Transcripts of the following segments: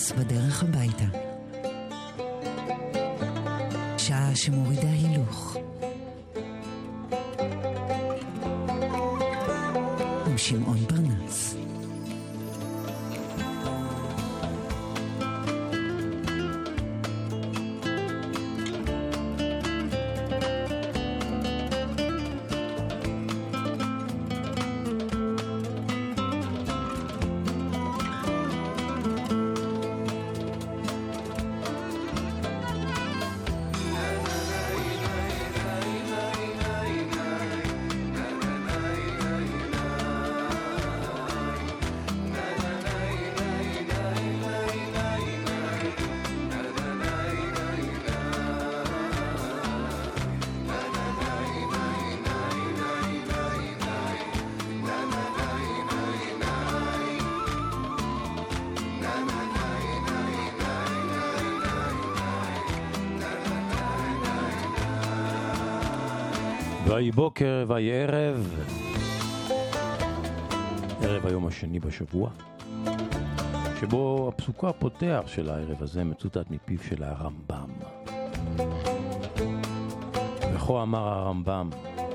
פרנס בדרך הביתה. שעה שמורידה הילוך. עם שמעון פרנס. ויהי בוקר ויהי ערב, ערב היום השני בשבוע, שבו הפסוק הפותח של הערב הזה מצוטט מפיו של הרמב"ם. וכה אמר הרמב"ם,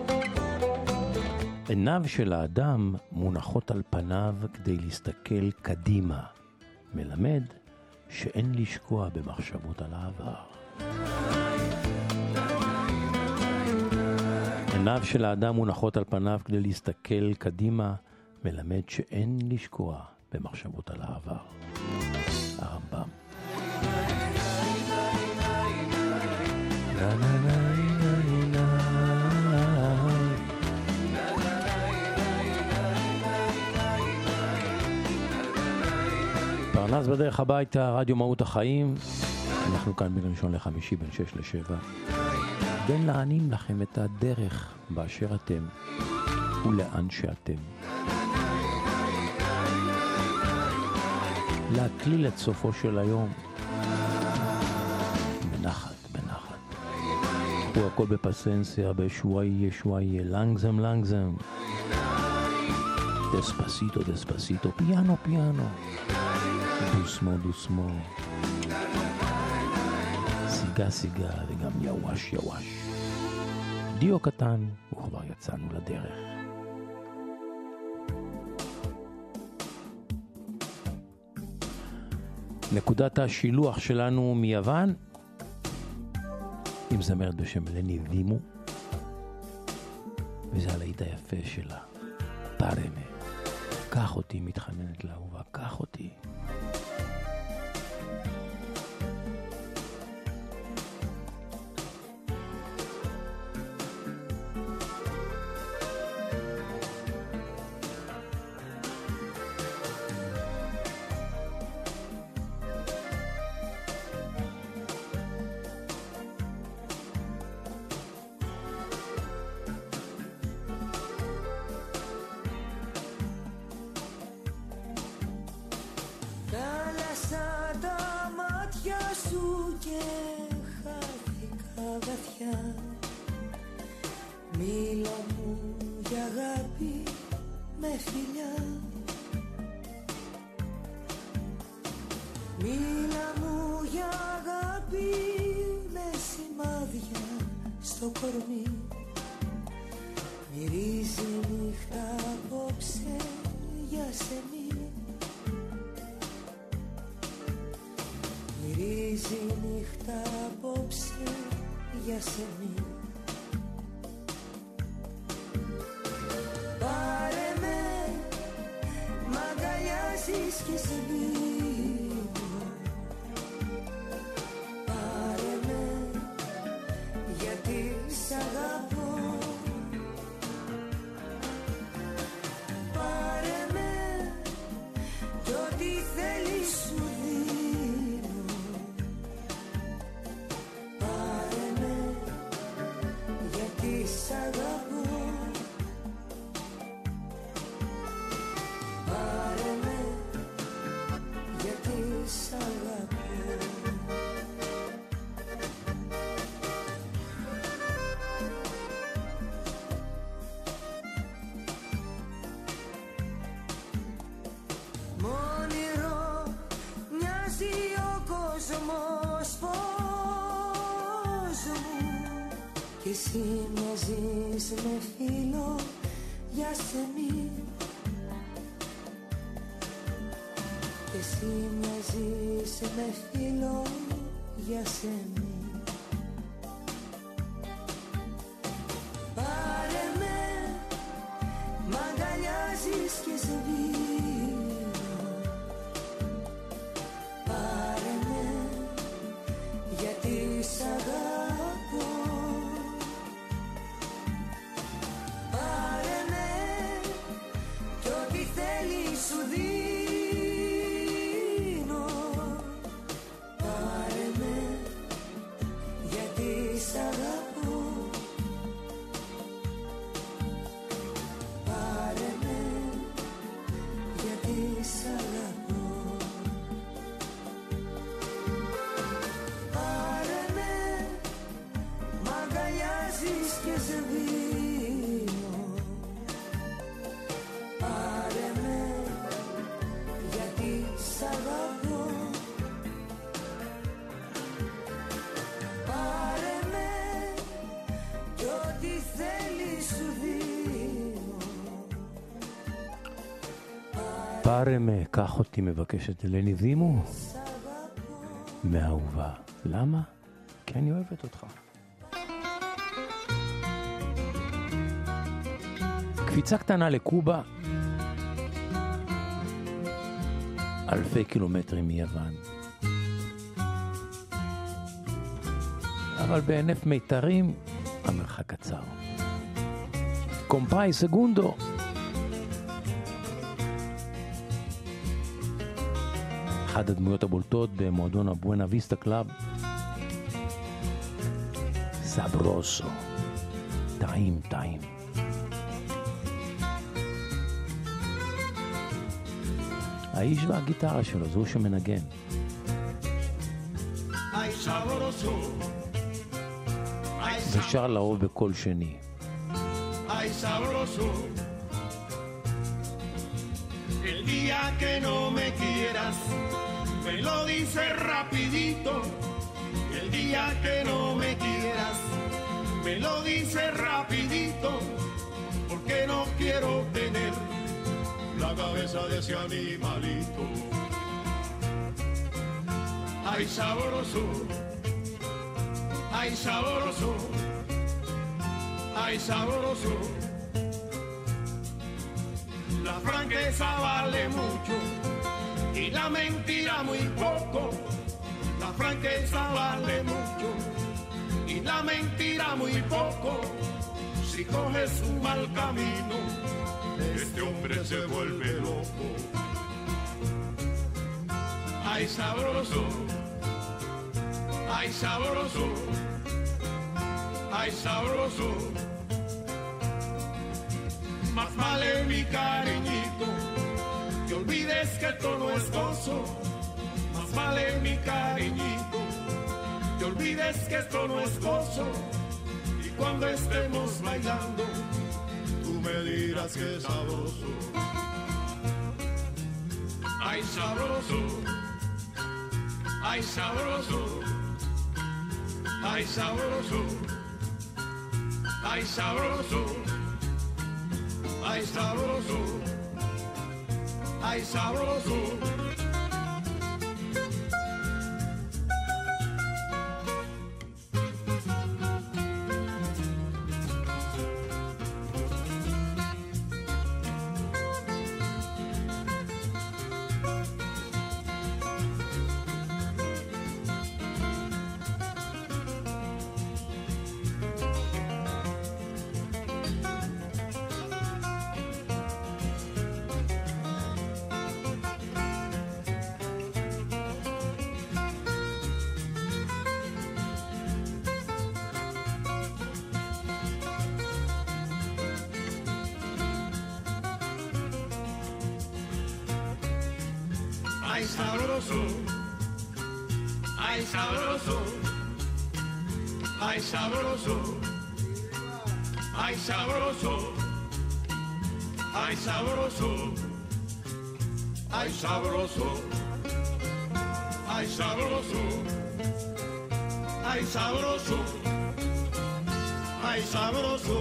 עיניו של האדם מונחות על פניו כדי להסתכל קדימה, מלמד שאין לשקוע במחשבות על העבר. עיניו של האדם מונחות על פניו כדי להסתכל קדימה, מלמד שאין לשקוע במחשבות על העבר. הרמב"ם. פרנס בדרך הביתה, רדיו מהות החיים. אנחנו כאן בין ראשון לחמישי, בין 6 ל-7. בין לענים לכם את הדרך באשר אתם ולאן שאתם. להקליל את סופו של היום בנחת, בנחת. הוא הכל בפסנסיה, בשוואי, שוואי, לנגזם, לנגזם. דספסיטו, דספסיטו, פיאנו, פיאנו. דוסמו, דוסמו. סיגה, סיגה, וגם יווש, יווש. דיו קטן, וכבר יצאנו לדרך. נקודת השילוח שלנו מיוון, עם זמרת בשם לני וימו, וזה הלהיט היפה שלה, פרמה. קח אותי, מתחננת לאהובה, קח אותי. Μίλα μου για αγάπη με φιλιά. Μίλα μου για αγάπη με σημάδια στο κορμί. Μυρίζει νύχτα απόψε για σενή. Μυρίζει νύχτα απόψε για σενή. Πάρε με, μ' αγκαλιάζεις και σε μείνω. Πάρε με, γιατί σ' αγαπώ. Πάρε με, κι ό,τι θέλεις σου δίνω. Πάρε με, κι εσύ μοιάζεις με φίλο για σεμί. Κι εσύ μοιάζεις με φίλο για σεμί. Πάρε με, μ' αγκαλιάζεις και σβήνω. Πάρε με, γιατί σ' αγαπώ. Πάρε με, κι ό,τι θέλεις σου δίνω. Πάρε με, γιατί σ' αγαπώ. Πάρε με, γιατί σ' αγαπώ. Πάρε με, μ' αγκαλιάζεις και σβήνω. Πάρε με, γιατί σ' αγαπώ. Πάρε με, κι ό,τι θέλεις σου δίνω. πάρε με, קח אותי, מבקשת אלני דימו מאהובה. למה? כי אני אוהבת אותך. קפיצה קטנה לקובה, אלפי קילומטרים מיוון, אבל בענף מיתרים המרחק קצר. קומפאי סגונדו, אחת הדמויות הבולטות במועדון הבואנה ויסטה קלאב. סברוסו, טעים טעים. האיש והגיטרה שלו, זהו שמנגן. ושר לרוב בקול שני. Ay sabroso, el día que no me quieras, me lo dices rapidito. El día que no me quieras, me lo dices rapidito, porque no quiero tener la cabeza de ese animalito. Ay sabroso, ay sabroso, ay sabroso. La franqueza vale mucho y la mentira muy poco. La franqueza vale mucho y la mentira muy poco. Si coges un mal camino, este hombre se vuelve loco. Ay sabroso, ay sabroso, ay sabroso. Más vale mi cariñito que olvides que esto no es gozo. Más vale mi cariñito que olvides que esto no es gozo. Y cuando estemos bailando, tú me dirás que es sabroso. Ay sabroso, ay sabroso, ay sabroso, ay sabroso. Ay sabroso, ay sabroso. Ay sabroso, ay sabroso, ay sabroso, ay sabroso, ay sabroso, ay sabroso, ay sabroso, ay sabroso, ay sabroso.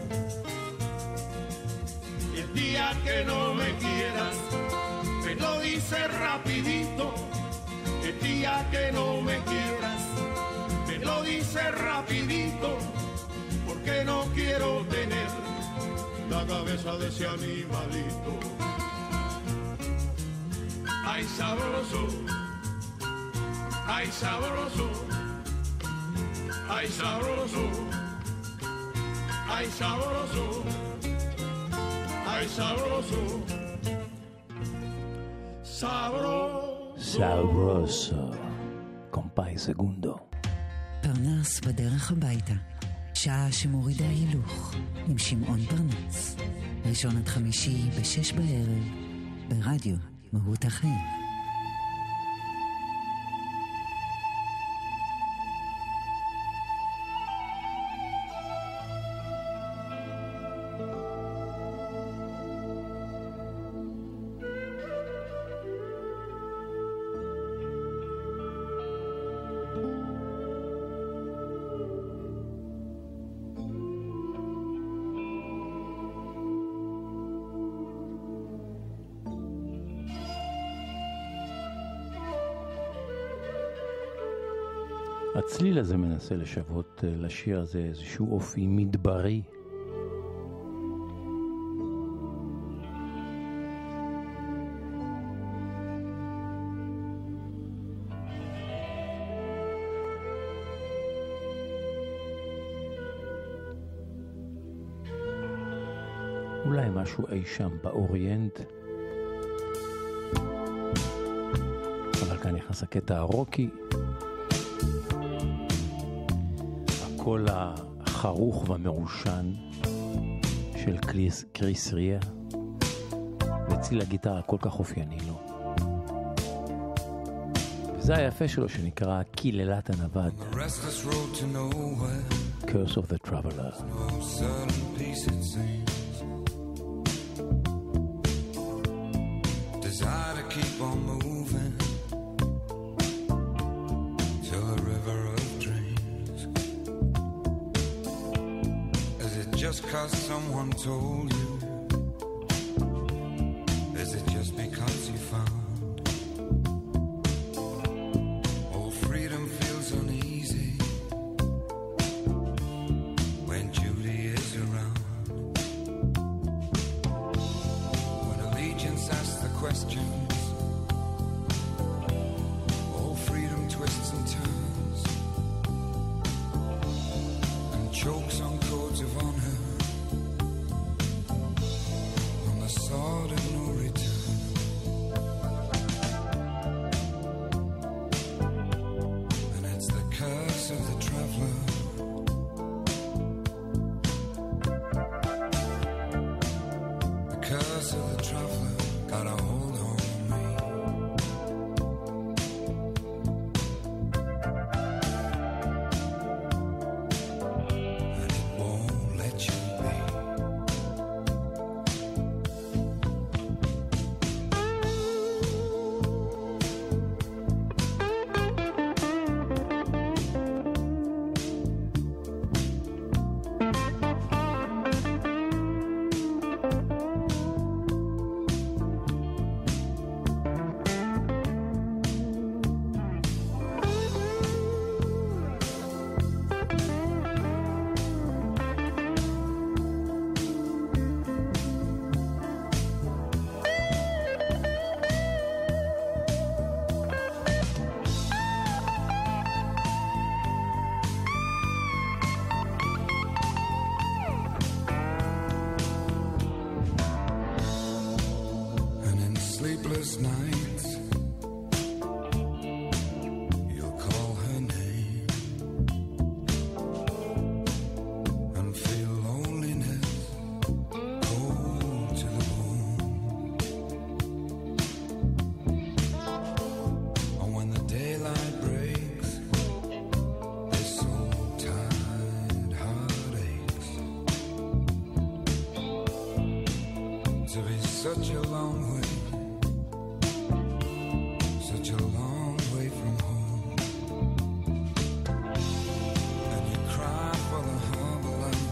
Y el día que no me quieras, me lo dice rapidito. El día que no me quieras, me lo dice rapidito. Porque no quiero tener la cabeza de ese animalito. Ay sabroso, ay sabroso, ay sabroso, ay sabroso, ay sabroso, sabroso. sabroso, קומפאי סגונדו. פרנס בדרך הביתה, שעה שמורידה הילוך, עם שמעון פרנס. ראשון עד חמישי ב-6 בערב, ברדיו מהות החיים. הצליל הזה מנסה לשוות לשיר הזה איזשהו אופי מדברי. אולי משהו אי שם באוריינט. אבל כאן נכנס הקטע הרוקי. הקול החרוך והמרושן של קריס ריה, וציל הגיטרה הכל כך אופייני לו. וזה היפה שלו שנקרא קיללת הנווד, Curse of the Traveler. Desire to keep on moving till the river of dreams. Is it just 'cause someone told you? Is it just because you found all freedom feels uneasy when Judy is around? When allegiance asks the questions, all freedom twists and turns and chokes on codes of honor, on the sword of no return. And it's the curse of the traveler. The curse of the traveler got a hold on me. And it won't let you be. And in sleepless nights, you'll call her name and feel loneliness cold to the bone. And when the daylight breaks, this soul-tied heart aches to be such a long way, such a long way from home. And you cry for the harbor light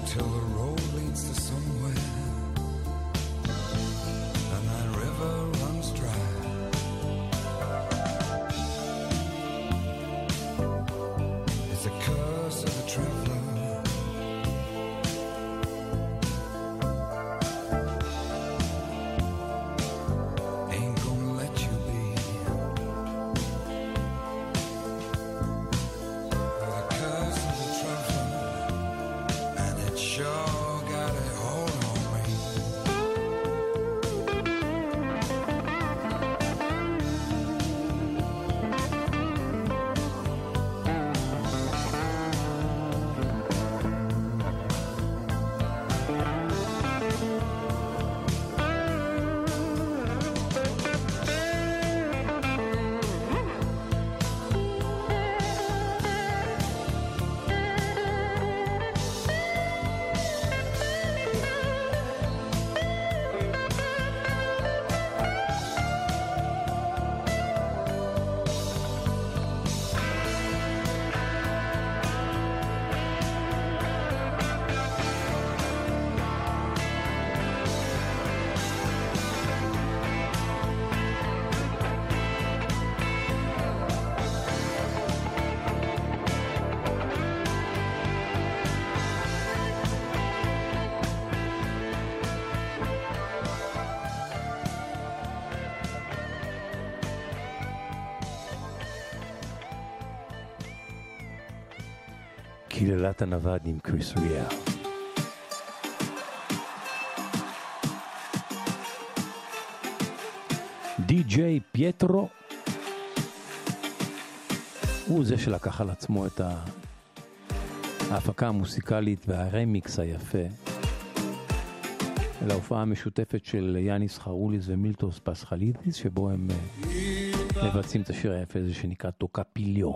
till the road leads to somewhere, and that river runs dry. It's a curse of the traveler. Ain't gonna let you be. The curse of the traveler, and it sure got a hold on me. קללת הנווד עם קריס ריאר. די.ג'יי פייטרו הוא זה שלקח על עצמו את ההפקה המוסיקלית והרמיקס היפה להופעה המשותפת של יאניס חרוליס ומילטוס פסחלידיס, שבו הם מבצעים את השיר היפה הזה שנקרא טוקפיליו.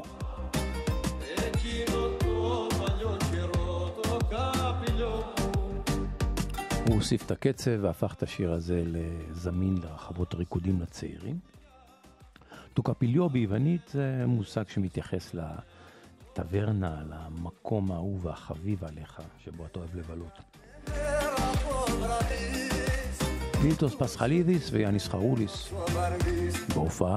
הוא הוסיף את הקצב והפך את השיר הזה לזמין לרחבות ריקודים לצעירים. טוקפיליו ביוונית זה מושג שמתייחס לטברנה, למקום האהוב והחביב עליך, שבו אתה אוהב לבלות. מילטוס פסחלידיס ויאניס חרוליס בהופעה.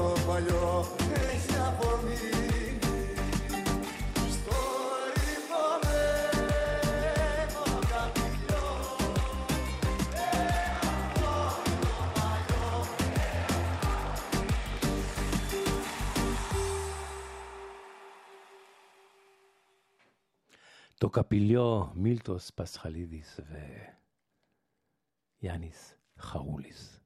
Story for טוקפיליו, מילטוס פסחלידיס ויאניס חרוליס.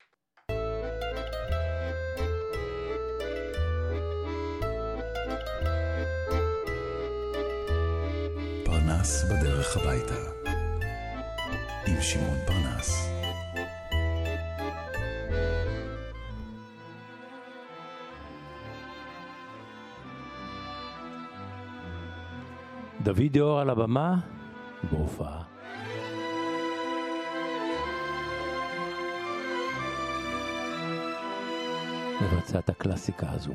פרנס בדרך הביתה עם שמעון פרנס. דוד דאור על הבמה בהופעה. מבצע את הקלאסיקה הזו.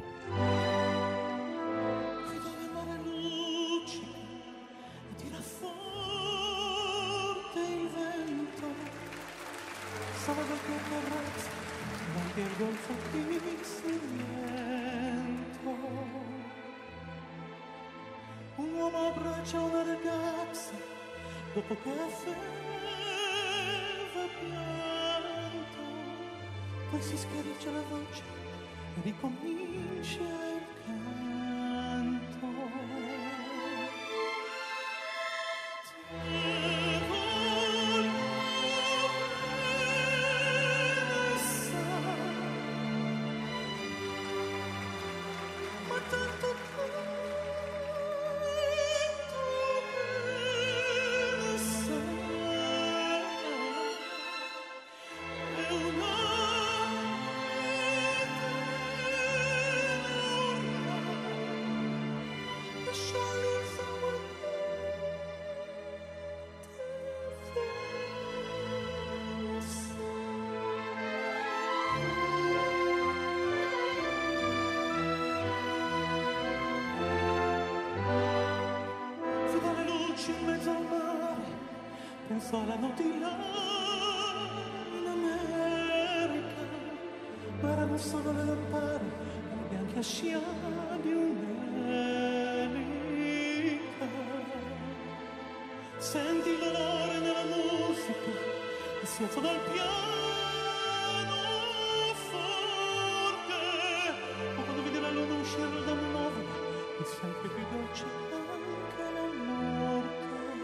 Un uomo abbraccia una ragazza dopo che aveva pianto, poi si schiarisce la voce e ricomincia il canto. Penso alla notte là in America, ma erano solo le lampade e le bianche scia di un'elica. Senti l'olore nella musica e si alza dal piano forte, ma quando vedi la luna uscire da un nuovo è sempre più dolce anche la morte.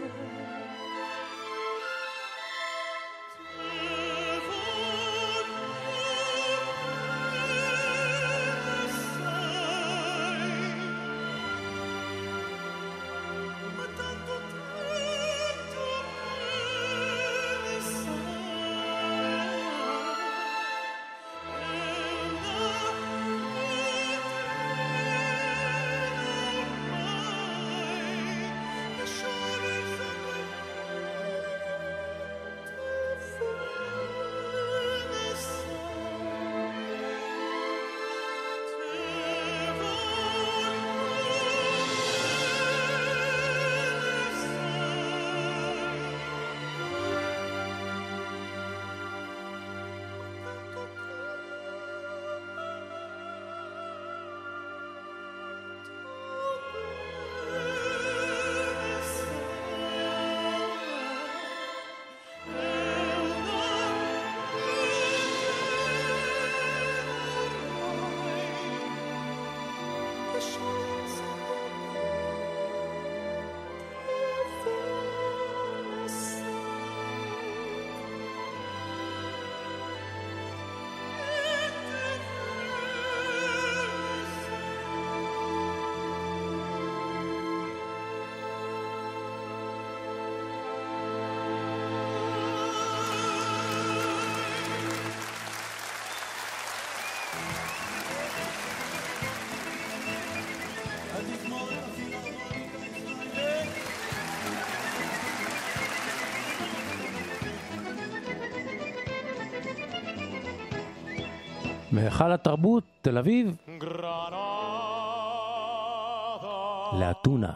מהיכל התרבות, תל אביב, לאתונה.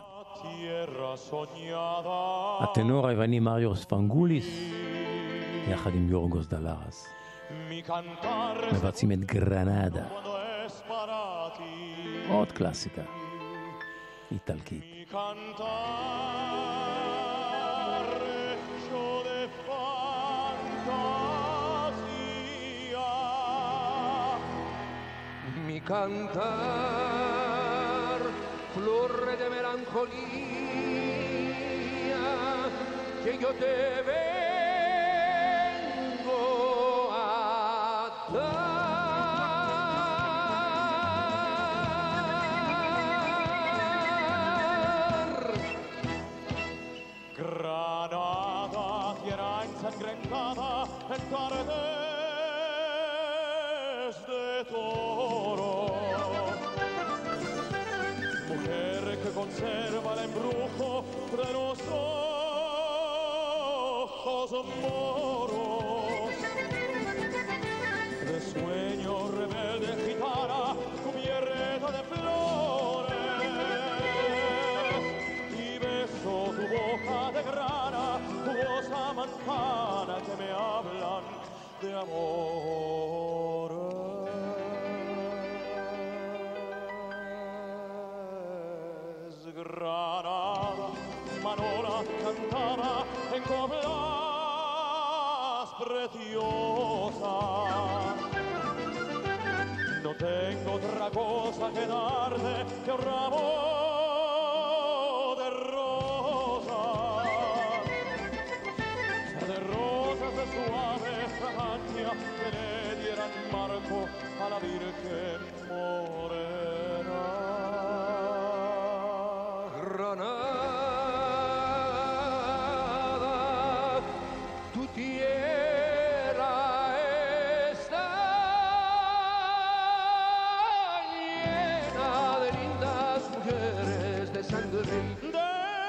הטנור היווני מריו ספנגוליס, יחד עם יורגוס דלרס, מבצעים את גרנדה. עוד קלאסיקה איטלקית. Cantar flor de melancolía que yo te vengo a dar. Granada, tierra ensangrentada en tardes de toro. Mujer que conserva el embrujo de los ojos moros. De sueño rebelde gitana cubierta de flores. Y beso tu boca de grana, jugosa manzana que me hablan de amor. Granada, Manola cantaba en coplas preciosas. No tengo otra cosa que darte que un ramo de rosas de suave fragancia que le dieran marco a la Virgen morena. Granada, tu tierra está llena de lindas mujeres de sangre y de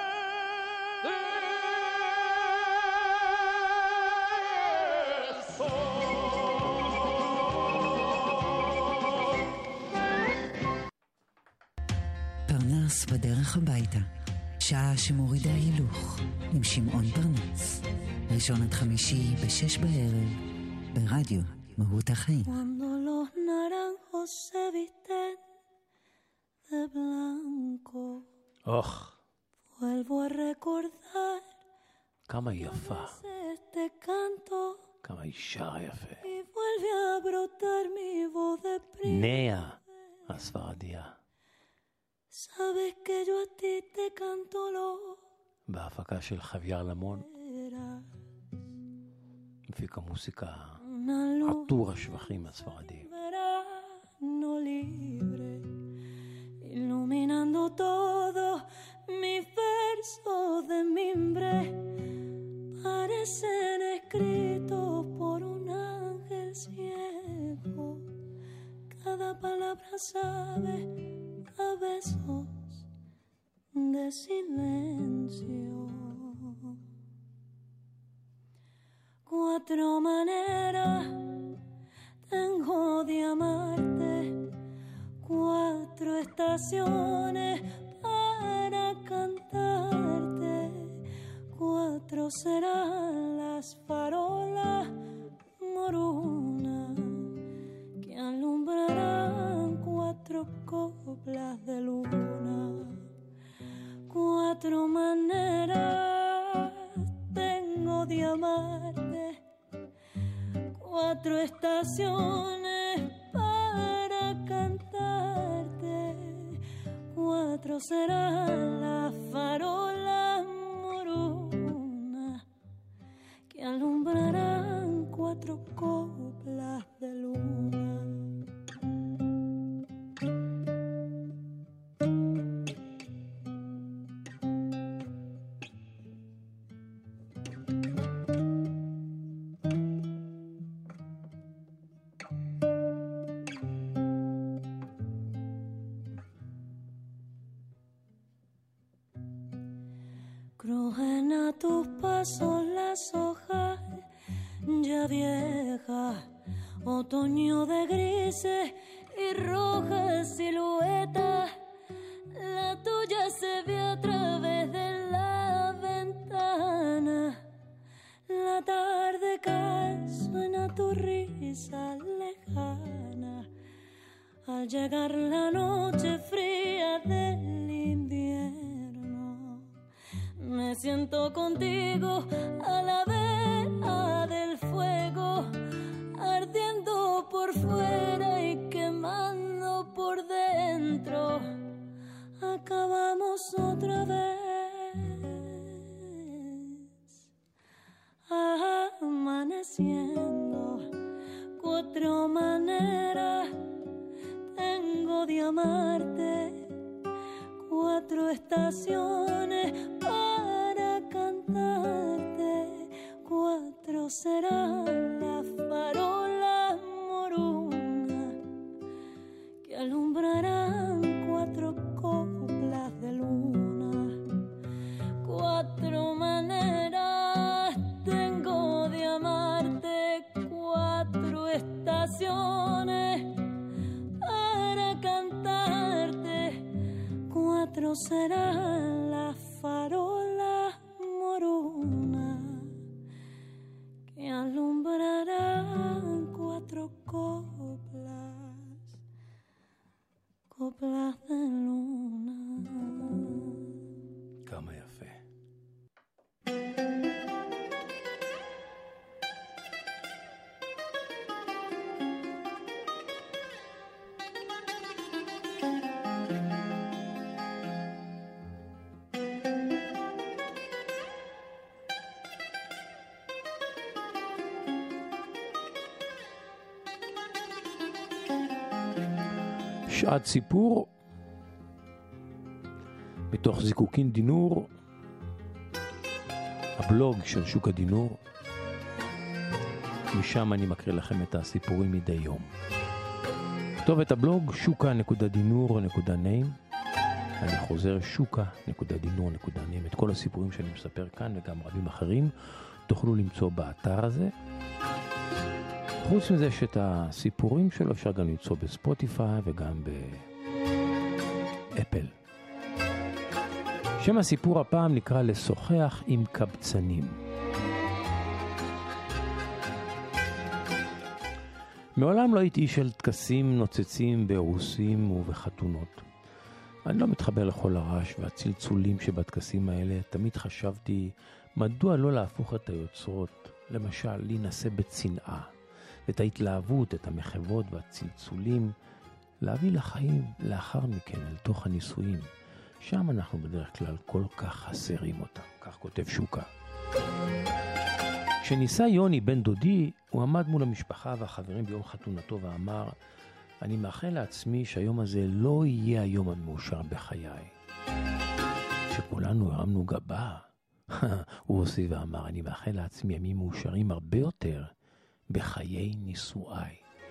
פרנס בדרך הביתה, שעה שמורידה הילוך, עם שמעון פרנס. ראשון עד חמישי ב-6 בערב, ברדיו מהות החיים. Cuando los naranjos se visten de blanco, אוח, vuelvo a recordar כמה היא יפה, este canto כמה היא שרה יפה. y vuelve a brotar mi voz de נאה הספרדיה, Sabes que yo a ti te canto lo בהפקה של חוויאר למון, verás. מפיק המוסיקה Una luz עטור השבחים הספרדים. verano libre, iluminando todo mis versos de mimbre. Parecen escritos por un ángel ciego. Cada palabra sabe a besos de silencio. 4 maneras tengo de amarte, 4 estaciones para cantarte, 4 serán las farolas morunas que alumbrarán 4 coplas de luna. 4 maneras tengo de amarte, 4 estaciones para cantarte, 4 serán las farolas morunas que alumbrarán 4 coplas de luna. Crujen a tus pasos las hojas ya viejas, otoño de grises y rojas siluetas. La tuya se ve a través de la ventana. La tarde cae, suena tu risa lejana. Al llegar la noche fría del invierno, me siento contigo a la vera del fuego, ardiendo por fuera y quemando por dentro. Acabamos otra vez diciendo, 4 maneras tengo de amarte, 4 estaciones para cantarte, 4 serán las farolas morunas que alumbrarán 4 coplas de luna, 4 maneras tengo de amarte, 4 estaciones para cantarte, 4 serán las farolas morunas que alumbrarán 4 coplas de luna. כמה יפה. שעת סיפור מתוך זיקוקין דינור, הבלוג של שוק הדינור. משם אני מקריא לכם את הסיפורים מדי יום. כתובת הבלוג shuka.dinur.name. אני חוזר shuka.dinur.name. את כל הסיפורים שאני מספר כאן וגם רבים אחרים תוכלו למצוא באתר הזה. חוץ מזה שאת הסיפורים שלו אפשר גם למצוא בספוטיפיי וגם באפל. שם הסיפור הפעם נקרא לשוחח עם קבצנים. מעולם לא הייתי של טקסים נוצצים באירוסים ובחתונות. אני לא מתחבר לכל הרעש והצלצולים שבטקסים האלה. תמיד חשבתי מדוע לא להפוך את היוצרות, למשל להינשא בצנעה, את ההתלהבות, את המחוות והצלצולים, להביא לחיים לאחר מכן אל תוך הנישואים. שם אנחנו בדרך כלל כל כך חסרים אותם, כך כותב שוקה. כשניסה יוני בן דודי, הוא עמד מול המשפחה והחברים ביום חתונתו ואמר, אני מאחל לעצמי שהיום הזה לא יהיה היום המאושר בחיי. שכולנו הרמנו גבה, הוא הוסיף ואמר, אני מאחל לעצמי ימים מאושרים הרבה יותר בחיי נישואיי.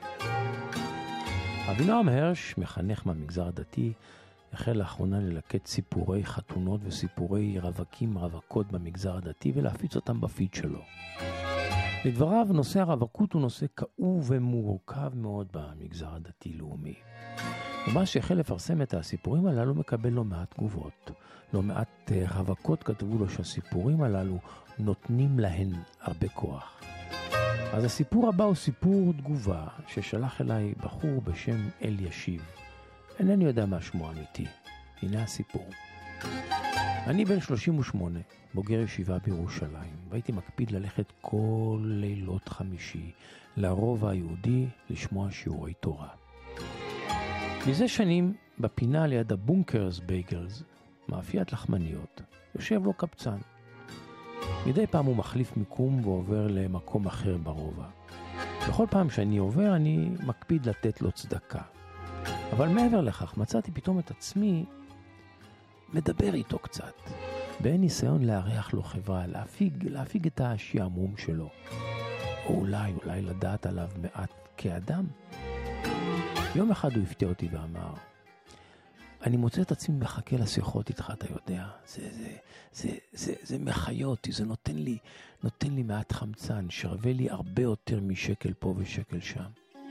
אבינועם הרש, מחנך מהמגזר הדתי, החל לאחרונה ללקט סיפורי חתונות וסיפורי רווקות במגזר הדתי ולהפיץ אותם בפיד שלו. לדבריו, נושא הרווקות הוא נושא כאוב ומורכב מאוד במגזר הדתי-לאומי. ומה שהחל לפרסם את הסיפורים הללו מקבל לא מעט תגובות. לא מעט רווקות כתבו לו שהסיפורים הללו נותנים להן הרבה כוח. אז הסיפור הבא הוא סיפור תגובה ששלח אליי בחור בשם אל ישיב. אינני יודע מה שמו אמיתי. הנה הסיפור. אני בן 38, בוגר ישיבה בירושלים, והייתי מקפיד ללכת כל לילות חמישי לרובע היהודי לשמוע שיעורי תורה. מזה שנים, בפינה ליד הבונקרס בייגלס, מאפיית לחמניות, יושב לו קבצן. מדי פעם הוא מחליף מיקום ועובר למקום אחר ברובע. בכל פעם שאני עובר אני מקפיד לתת לו צדקה. אבל מעבר לכך מצאתי פתאום את עצמי מדבר איתו קצת. באין ניסיון להריח לו חברה, להפיג את השעמום שלו. או אולי לדעת עליו מעט כאדם. יום אחד הוא הפתיע אותי ואמר, אני מוצא את עצמי מחכה לשיחות איתך, אתה יודע. זה מחיה אותי, זה נותן לי מעט חמצן, שרווה לי הרבה יותר משקל פה ושקל שם.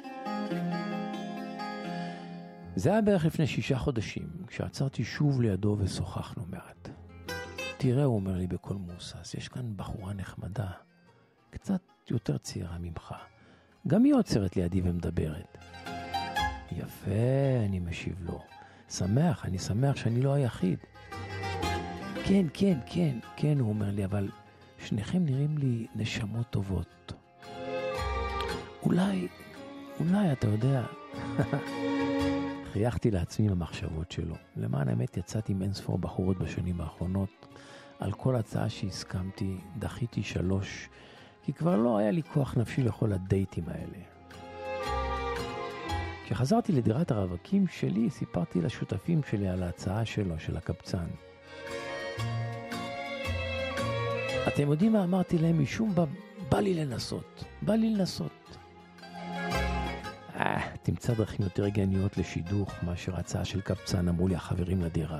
זה היה בערך לפני 6 חודשים, כשעצרתי שוב לידו ושוחחנו מעט. תראה, הוא אומר לי בכל מוסס, יש כאן בחורה נחמדה, קצת יותר צעירה ממך. גם היא עוצרת לידי ומדברת. יפה, אני משיב לו. אני שמח שאני לא היחיד. כן, הוא אומר לי, אבל שניכם נראים לי נשמות טובות. אולי, אתה יודע. חייכתי לעצמי במחשבות שלו. למען האמת יצאתי עם אינספור בחורות בשנים האחרונות. על כל הצעה שהסכמתי, דחיתי 3 כי כבר לא היה לי כוח נפשי לכל הדייטים האלה. כשחזרתי לדירת הרווקים שלי, סיפרתי לשותפים שלי על ההצעה שלו, של הקבצן. אתם יודעים מה אמרתי להם? משום בא לי לנסות. תמצא דרכים יותר הגיוניות לשידוך מאשר הצעה של קבצן, אמרו לי החברים לדירה.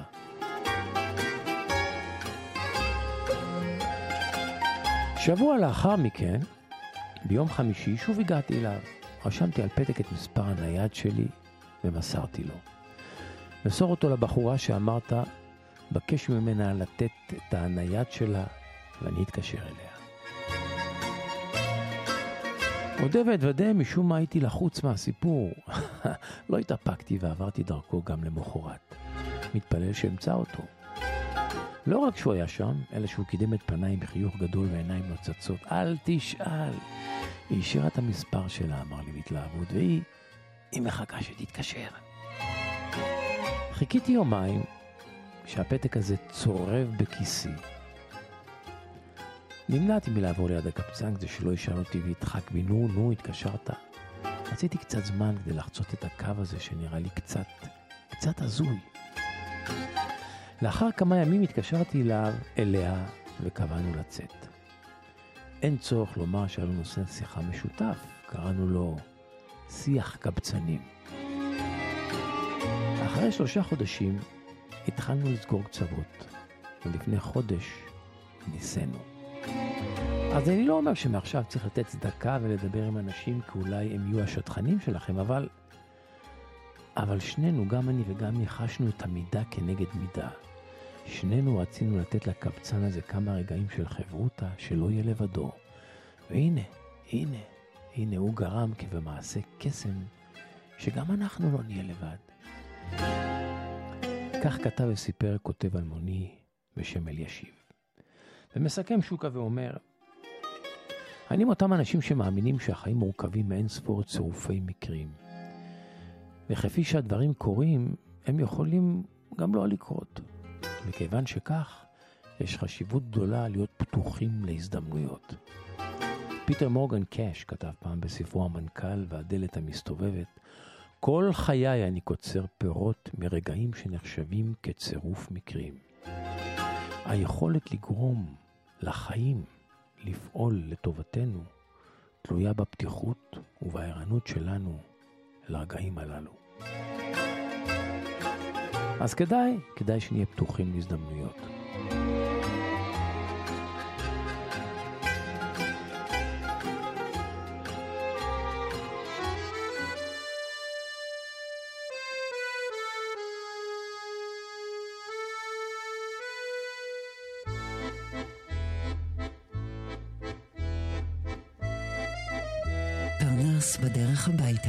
שבוע לאחר מכן, ביום חמישי, שוב הגעתי אליו. רשמתי על פתק את מספר הנייד שלי ומסרתי לו. מסור אותו לבחורה שאמרת, בקש ממנה לתת את הנייד שלה ואני אתקשר אליה. עודה ועדווה, משום מה הייתי לחוץ מהסיפור. לא התאפקתי ועברתי דרכו גם למחרת. מתפלל שאמצא אותו. לא רק שהוא היה שם, אלא שהוא קידם את פניי בחיוך גדול ועיניים נוצצות. אל תשאל. היא השאירה את המספר שלה, אמר לי בהתלהבות, והיא מחכה שתתקשר. חיכיתי יומיים שהפתק הזה צורב בכיסי. נמנעתי מלעבור ליד הקבצן כדי שלא ישאל אותי והתחק בי, נו, התקשרת. רציתי קצת זמן כדי לחצות את הקו הזה שנראה לי קצת הזוי. לאחר כמה ימים התקשרתי אליה וקבענו לצאת. אין צורך לומר שהיה לנו נושא שיחה משותף, קראנו לו שיח קבצנים. אחרי 3 חודשים התחלנו לסגור קצוות, ולפני חודש ניסינו. אז אני לא אומר שמעכשיו צריך לתת צדקה ולדבר עם אנשים כי אולי הם יהיו השטחנים שלכם, אבל שנינו, גם אני וגם היא, חשנו את המידה כנגד מידה. שנינו רצינו לתת לקבצן הזה כמה רגעים של חברותה, שלא יהיה לבדו. והנה, הוא גרם כבמעשה קסם, שגם אנחנו לא נהיה לבד. כך כתב וסיפר כותב אלמוני בשם אלישיב. ומסכם שוקה ואומר, אני מאותם אנשים שמאמינים שהחיים מורכבים מאין ספור צירופי מקרים. וכפי שהדברים קורים, הם יכולים גם לא לקרות. מכיוון שכך, יש חשיבות גדולה להיות פתוחים להזדמנויות. פיטר מורגן קאש כתב פעם בספרו המנכ"ל והדלת המסתובבת, כל חיי אני קוצר פירות מרגעים שנחשבים כצירוף מקרים. היכולת לגרום לחיים לפעול לטובתנו תלויה בפתיחות ובערנות שלנו לרגעים הללו. אז כדאי שנהיה פתוחים להזדמנויות. פרנס בדרך הביתה.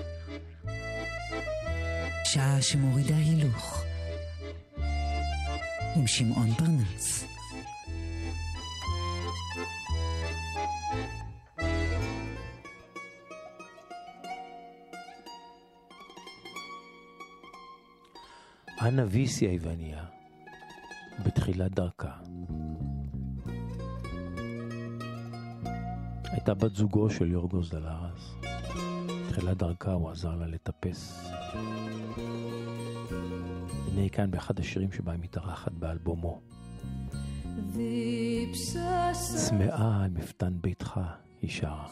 שעה שמורידה הילוך. עם שמעון פרנס. אנה ויסי היווניה בתחילת דרכה הייתה בת זוגו של יורגוס דלרס. בתחילת דרכה הוא עזר לה לטפס. הנה כאן באחד השירים שבה היא מתארחת באלבומו. צמאה על מפתן ביתך היא שרה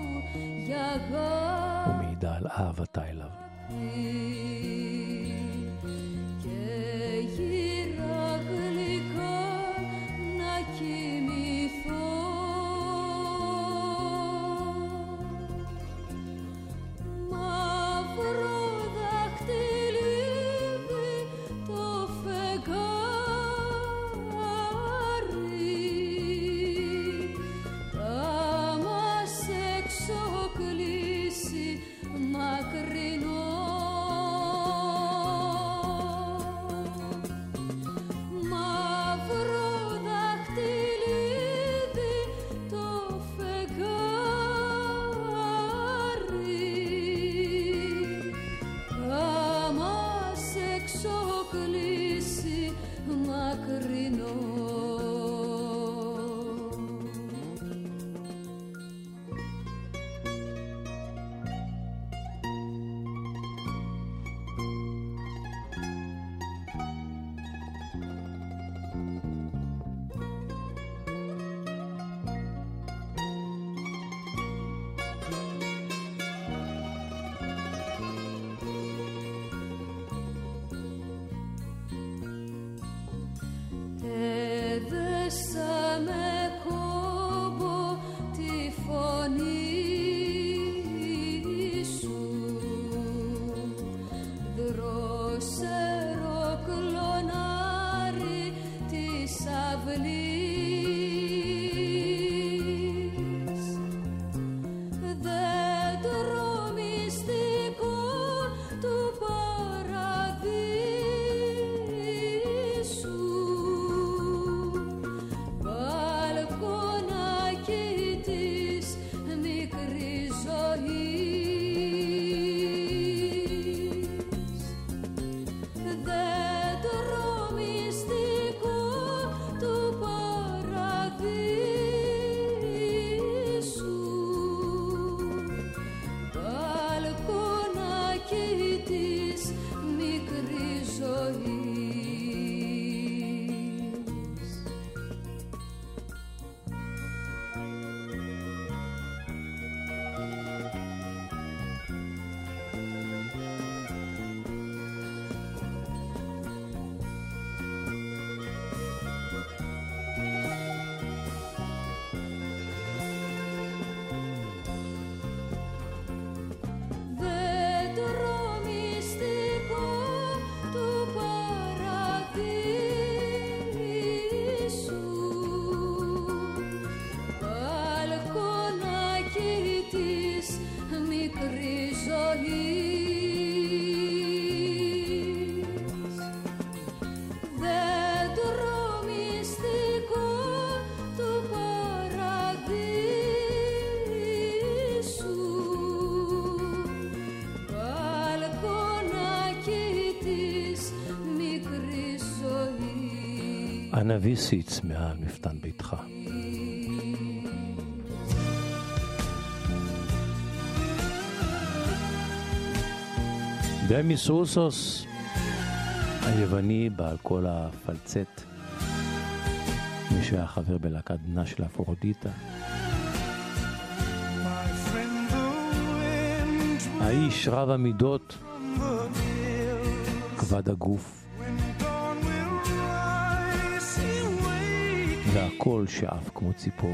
ומעידה על אהבתה אליו. Macrino אנה ויסיץ מעל מפתן ביתך. דמיס רוסוס היווני בעל כל הפלצט, מי שהיה חבר בלהקת בנה של אפרודיטה, האיש רב המידות, כבד הגוף, והקול שעף כמו ציפור.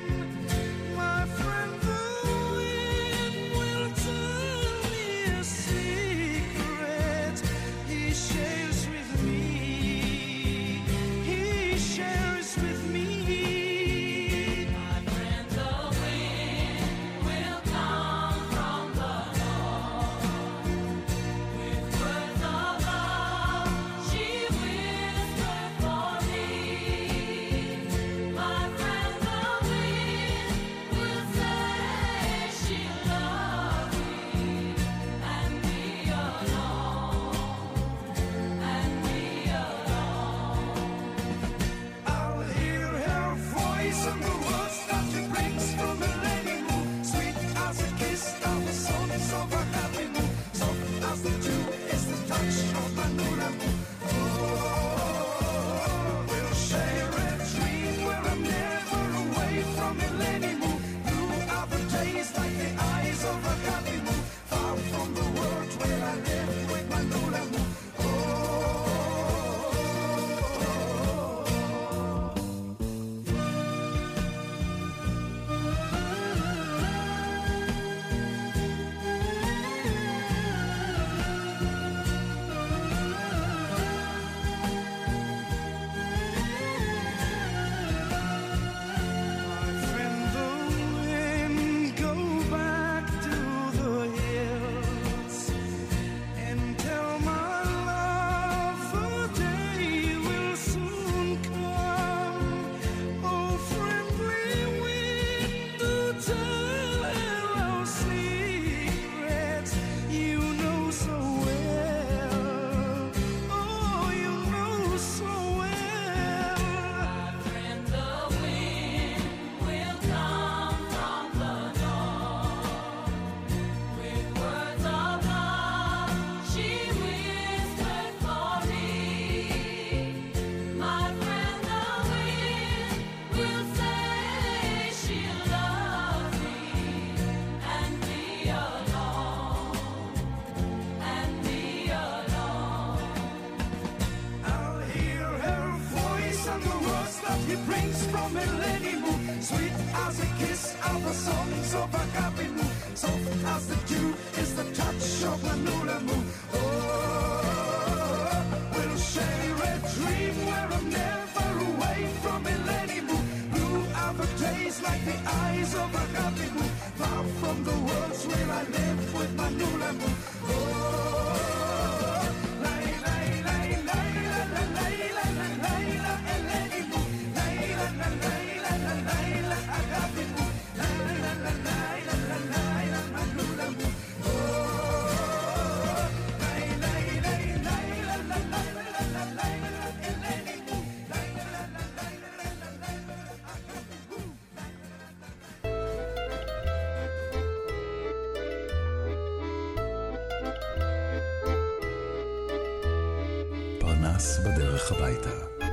פרנס בדרך הביתה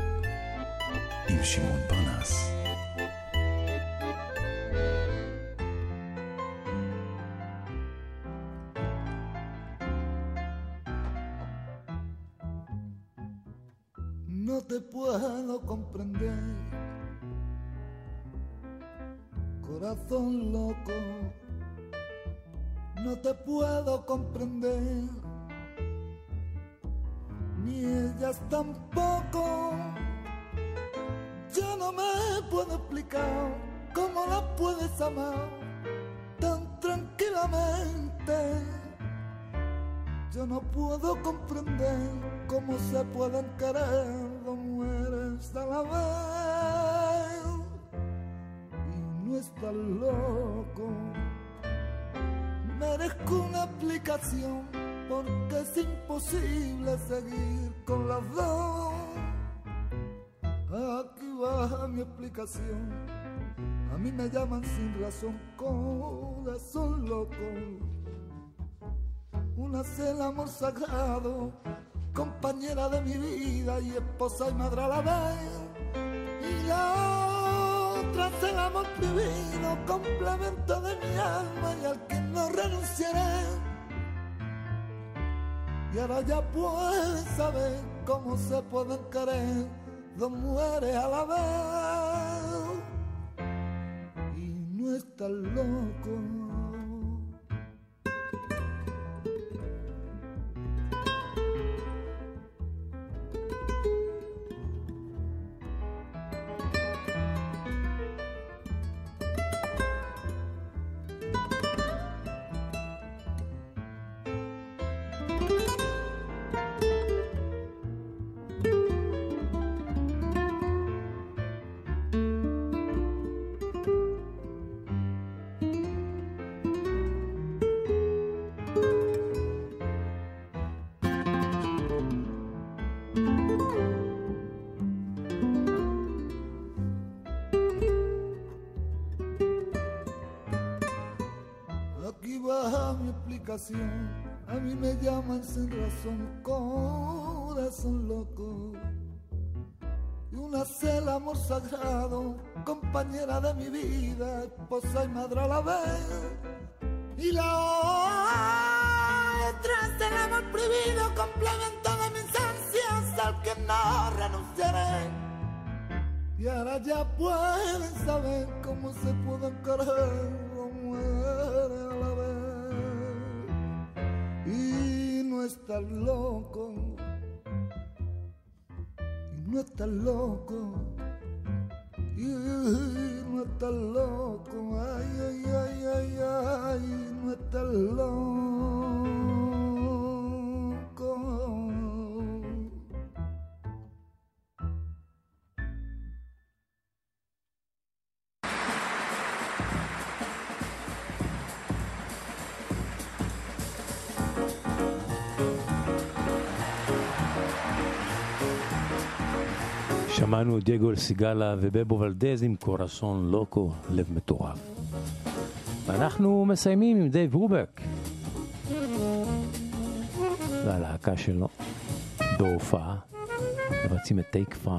עם שמעון פרנס. No te puedo comprender, corazón loco, no te puedo comprender, ni ellas tampoco. Yo no me puedo explicar cómo la puedes amar tan tranquilamente. Yo no puedo comprender cómo se pueden querer dos mujeres a la vez. Y no estás loco, merezco una explicación, porque es imposible seguir con las dos. Aquí va mi explicación. A mí me llaman sin razón corazón loco. Una es el amor sagrado, compañera de mi vida y esposa y madre a la vez. Y la otra es el amor prohibido, complemento de mi alma y al que no renunciaré. Y ahora ya puedes saber cómo se pueden querer dos mujeres a la vez. Y no estás loco. A mí me llaman sin razón corazón loco. Y una es el amor sagrado, compañera de mi vida, esposa y madre a la vez. Y la otra es el amor prohibido, complemento de mis ansias al que no renunciaré. Y ahora ya pueden saber cómo se pueden querer dos mujeres a la vez. Y no estás loco, y no estás loco, y no estás loco, ay, ay, ay, ay, ay, no estás loco. שמענו את דייגו סיגלה ובבו ולדז עם קורסון לוקו, לב מטורף. ואנחנו מסיימים עם דייב רובק והלהקה שלו בהופעה מבצעים את טייק 5.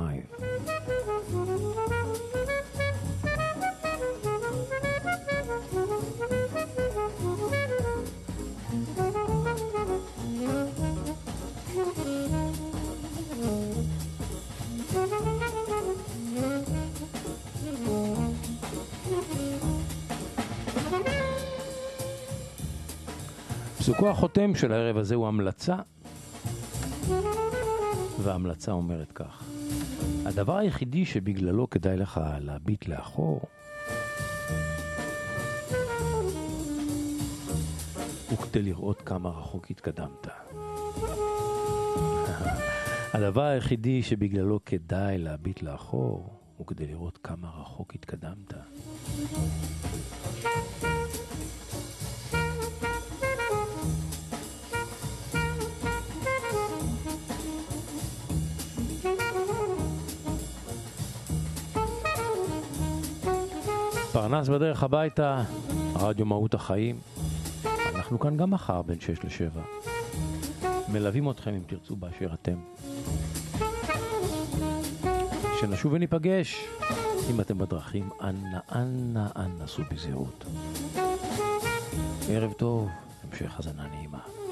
פסוקו החותם של הערב הזה הוא המלצה, וההמלצה אומרת כך: הדבר היחידי שבגללו כדאי לך להביט לאחור הוא כדי לראות כמה רחוק התקדמת. הדבר היחידי שבגללו כדאי להביט לאחור הוא כדי לראות כמה רחוק התקדמת. פרנס בדרך הביתה, רדיו מהות החיים. אנחנו כאן גם מחר בין 6 ל-7. מלווים אתכם אם תרצו באשר אתם. שנשוב וניפגש. אם אתם בדרכים, אנא סעו בזהירות. ערב טוב, המשך האזנה נעימה.